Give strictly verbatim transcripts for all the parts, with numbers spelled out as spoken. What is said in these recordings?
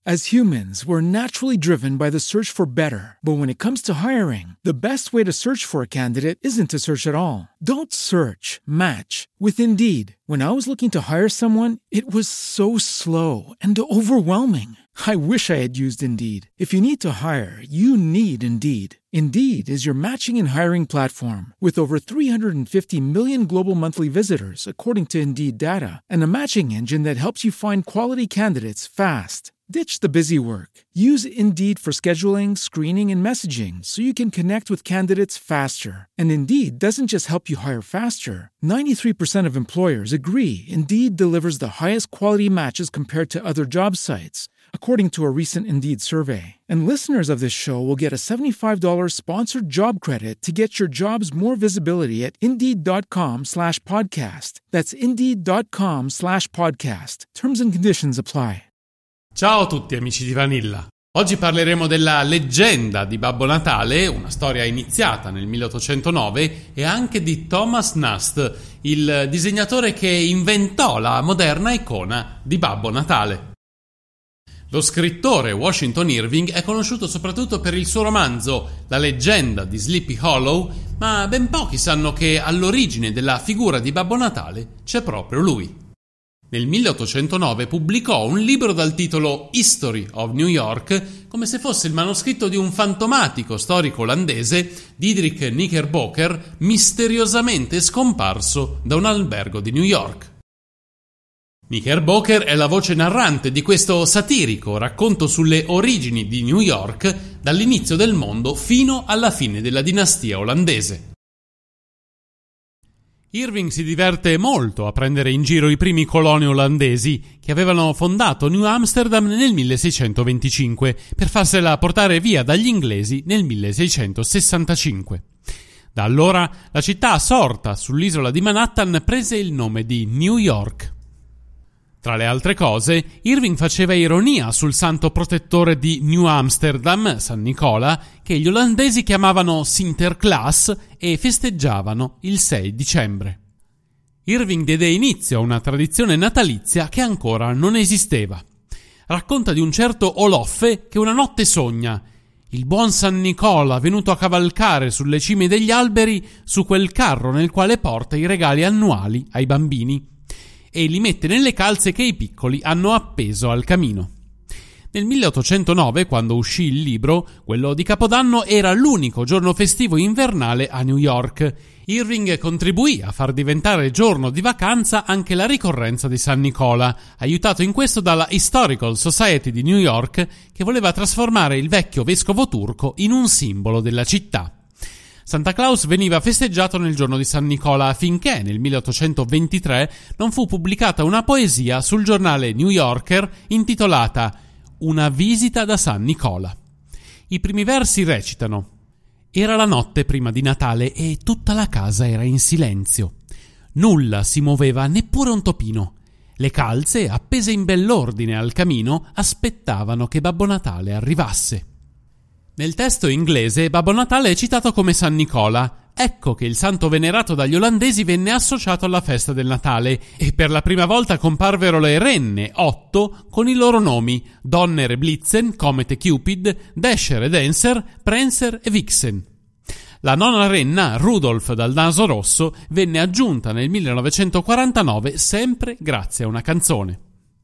As humans, we're naturally driven by the search for better. But when it comes to hiring, the best way to search for a candidate isn't to search at all. Don't search, match with Indeed. When I was looking to hire someone, it was so slow and overwhelming. I wish I had used Indeed. If you need to hire, you need Indeed. Indeed is your matching and hiring platform with over three hundred fifty million global monthly visitors, according to Indeed data, and a matching engine that helps you find quality candidates fast. Ditch the busy work. Use Indeed for scheduling, screening, and messaging so you can connect with candidates faster. And Indeed doesn't just help you hire faster. ninety-three percent of employers agree Indeed delivers the highest quality matches compared to other job sites, according to a recent Indeed survey. And listeners of this show will get a seventy-five dollars sponsored job credit to get your jobs more visibility at Indeed.com slash podcast. That's Indeed.com slash podcast. Terms and conditions apply. Ciao a tutti amici di Vanilla. Oggi parleremo della leggenda di Babbo Natale, una storia iniziata nel milleottocentonove, e anche di Thomas Nast, il disegnatore che inventò la moderna icona di Babbo Natale. Lo scrittore Washington Irving è conosciuto soprattutto per il suo romanzo La leggenda di Sleepy Hollow, ma ben pochi sanno che all'origine della figura di Babbo Natale c'è proprio lui. Nel milleottocentonove pubblicò un libro dal titolo History of New York, come se fosse il manoscritto di un fantomatico storico olandese, Diederik Knickerbocker, misteriosamente scomparso da un albergo di New York. Knickerbocker è la voce narrante di questo satirico racconto sulle origini di New York, dall'inizio del mondo fino alla fine della dinastia olandese. Irving si diverte molto a prendere in giro i primi coloni olandesi che avevano fondato New Amsterdam nel milleseicentoventicinque per farsela portare via dagli inglesi nel milleseicentosessantacinque. Da allora la città sorta sull'isola di Manhattan prese il nome di New York. Tra le altre cose, Irving faceva ironia sul santo protettore di New Amsterdam, San Nicola, che gli olandesi chiamavano Sinterklaas e festeggiavano il sei dicembre. Irving diede inizio a una tradizione natalizia che ancora non esisteva. Racconta di un certo Oloffe che una notte sogna: il buon San Nicola venuto a cavalcare sulle cime degli alberi su quel carro nel quale porta i regali annuali ai bambini, e li mette nelle calze che i piccoli hanno appeso al camino. Nel milleottocentonove, quando uscì il libro, quello di Capodanno era l'unico giorno festivo invernale a New York. Irving contribuì a far diventare giorno di vacanza anche la ricorrenza di San Nicola, aiutato in questo dalla Historical Society di New York, che voleva trasformare il vecchio vescovo turco in un simbolo della città. Santa Claus veniva festeggiato nel giorno di San Nicola finché nel milleottocentoventitré non fu pubblicata una poesia sul giornale New Yorker intitolata Una visita da San Nicola. I primi versi recitano: era la notte prima di Natale e tutta la casa era in silenzio. Nulla si muoveva, neppure un topino. Le calze, appese in bell'ordine al camino, aspettavano che Babbo Natale arrivasse. Nel testo inglese Babbo Natale è citato come San Nicola. Ecco che il santo venerato dagli olandesi venne associato alla festa del Natale e per la prima volta comparvero le renne, otto, con i loro nomi: Donner e Blitzen, Comet e Cupid, Dasher e Dancer, Prancer e Vixen. La nona renna, Rudolph dal naso rosso, venne aggiunta nel millenovecentoquarantanove sempre grazie a una canzone.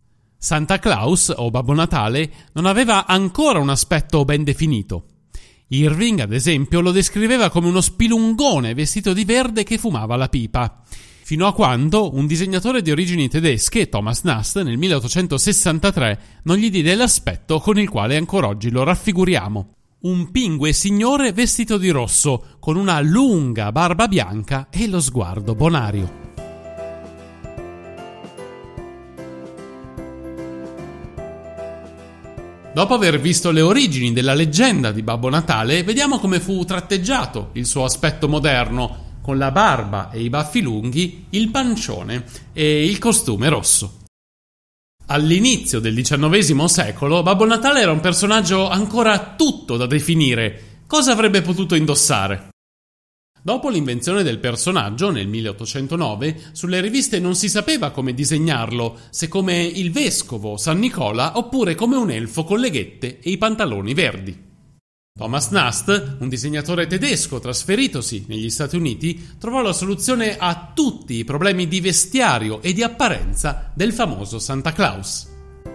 Santa Claus, o Babbo Natale, non aveva ancora un aspetto ben definito. Irving, ad esempio, lo descriveva come uno spilungone vestito di verde che fumava la pipa, fino a quando un disegnatore di origini tedesche, Thomas Nast, nel milleottocentosessantatré, non gli diede l'aspetto con il quale ancora oggi lo raffiguriamo. Un pingue signore vestito di rosso, con una lunga barba bianca e lo sguardo bonario. Dopo aver visto le origini della leggenda di Babbo Natale, vediamo come fu tratteggiato il suo aspetto moderno, con la barba e i baffi lunghi, il pancione e il costume rosso. All'inizio del diciannovesimo secolo, Babbo Natale era un personaggio ancora tutto da definire. Cosa avrebbe potuto indossare? Dopo l'invenzione del personaggio nel milleottocentonove, sulle riviste non si sapeva come disegnarlo, se come il vescovo San Nicola oppure come un elfo con le ghette e i pantaloni verdi. Thomas Nast, un disegnatore tedesco trasferitosi negli Stati Uniti, trovò la soluzione a tutti i problemi di vestiario e di apparenza del famoso Santa Claus.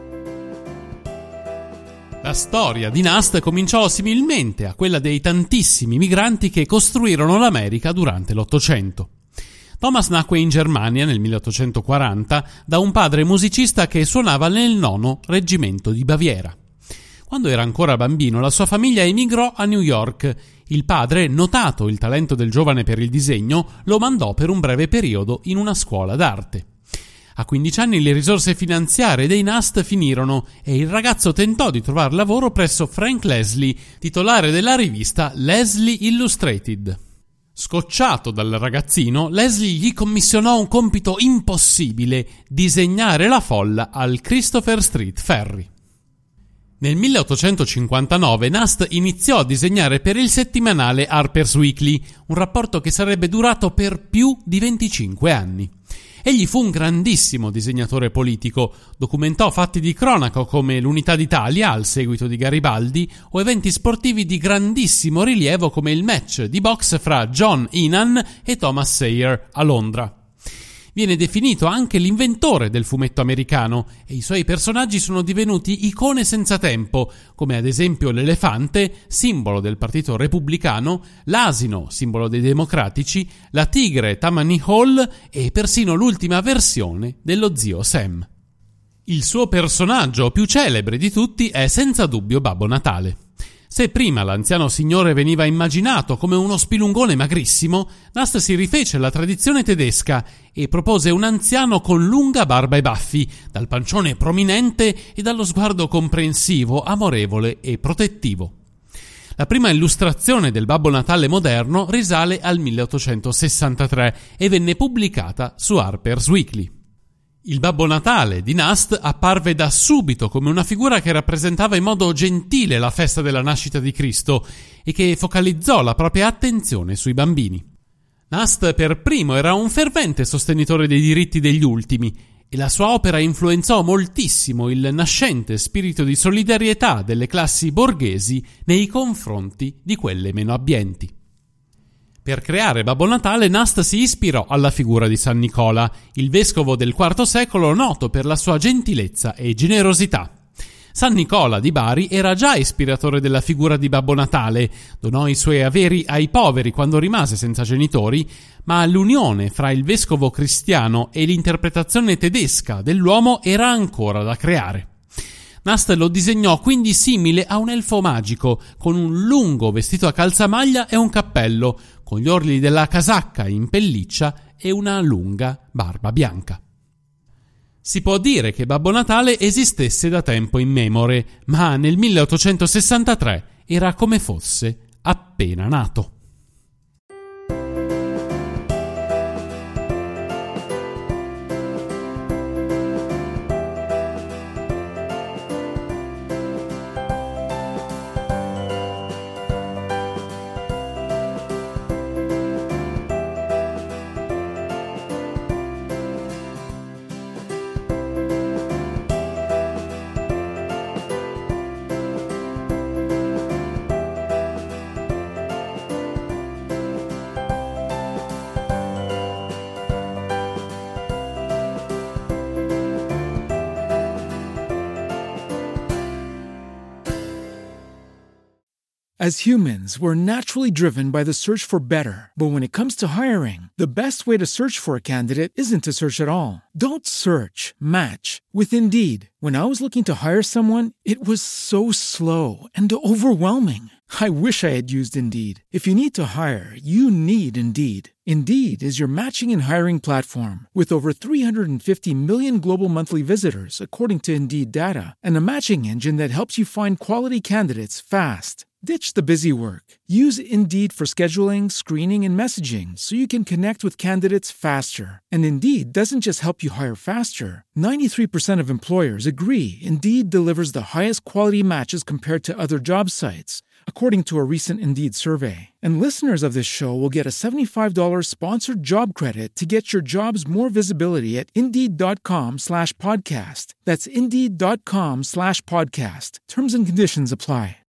La storia di Nast cominciò similmente a quella dei tantissimi migranti che costruirono l'America durante l'Ottocento. Thomas nacque in Germania nel milleottocentoquaranta da un padre musicista che suonava nel nono reggimento di Baviera. Quando era ancora bambino, la sua famiglia emigrò a New York. Il padre, notato il talento del giovane per il disegno, lo mandò per un breve periodo in una scuola d'arte. A quindici anni le risorse finanziarie dei Nast finirono e il ragazzo tentò di trovare lavoro presso Frank Leslie, titolare della rivista Leslie Illustrated. Scocciato dal ragazzino, Leslie gli commissionò un compito impossibile: disegnare la folla al Christopher Street Ferry. Nel milleottocentocinquantanove Nast iniziò a disegnare per il settimanale Harper's Weekly, un rapporto che sarebbe durato per più di venticinque anni. Egli fu un grandissimo disegnatore politico, documentò fatti di cronaca come l'Unità d'Italia al seguito di Garibaldi o eventi sportivi di grandissimo rilievo come il match di box fra John Heenan e Thomas Sayer a Londra. Viene definito anche l'inventore del fumetto americano e i suoi personaggi sono divenuti icone senza tempo, come ad esempio l'elefante, simbolo del Partito Repubblicano, l'asino, simbolo dei Democratici, la tigre Tammany Hall e persino l'ultima versione dello zio Sam. Il suo personaggio più celebre di tutti è senza dubbio Babbo Natale. Se prima l'anziano signore veniva immaginato come uno spilungone magrissimo, Nast si rifece alla tradizione tedesca e propose un anziano con lunga barba e baffi, dal pancione prominente e dallo sguardo comprensivo, amorevole e protettivo. La prima illustrazione del Babbo Natale moderno risale al milleottocentosessantatré e venne pubblicata su Harper's Weekly. Il Babbo Natale di Nast apparve da subito come una figura che rappresentava in modo gentile la festa della nascita di Cristo e che focalizzò la propria attenzione sui bambini. Nast per primo era un fervente sostenitore dei diritti degli ultimi e la sua opera influenzò moltissimo il nascente spirito di solidarietà delle classi borghesi nei confronti di quelle meno abbienti. Per creare Babbo Natale, Nast si ispirò alla figura di San Nicola, il vescovo del quarto secolo noto per la sua gentilezza e generosità. San Nicola di Bari era già ispiratore della figura di Babbo Natale, donò i suoi averi ai poveri quando rimase senza genitori, ma l'unione fra il vescovo cristiano e l'interpretazione tedesca dell'uomo era ancora da creare. Nast lo disegnò quindi simile a un elfo magico, con un lungo vestito a calzamaglia e un cappello, con gli orli della casacca in pelliccia e una lunga barba bianca. Si può dire che Babbo Natale esistesse da tempo immemore, ma nel milleottocentosessantatré era come fosse appena nato. As humans, we're naturally driven by the search for better. But when it comes to hiring, the best way to search for a candidate isn't to search at all. Don't search, match with Indeed. When I was looking to hire someone, it was so slow and overwhelming. I wish I had used Indeed. If you need to hire, you need Indeed. Indeed is your matching and hiring platform with over three hundred fifty million global monthly visitors, according to Indeed data, and a matching engine that helps you find quality candidates fast. Ditch the busy work. Use Indeed for scheduling, screening, and messaging so you can connect with candidates faster. And Indeed doesn't just help you hire faster. ninety-three percent of employers agree Indeed delivers the highest quality matches compared to other job sites. according to a recent Indeed survey. And listeners of this show will get a seventy-five dollars sponsored job credit to get your jobs more visibility at Indeed.com slash podcast. That's Indeed.com slash podcast. Terms and conditions apply.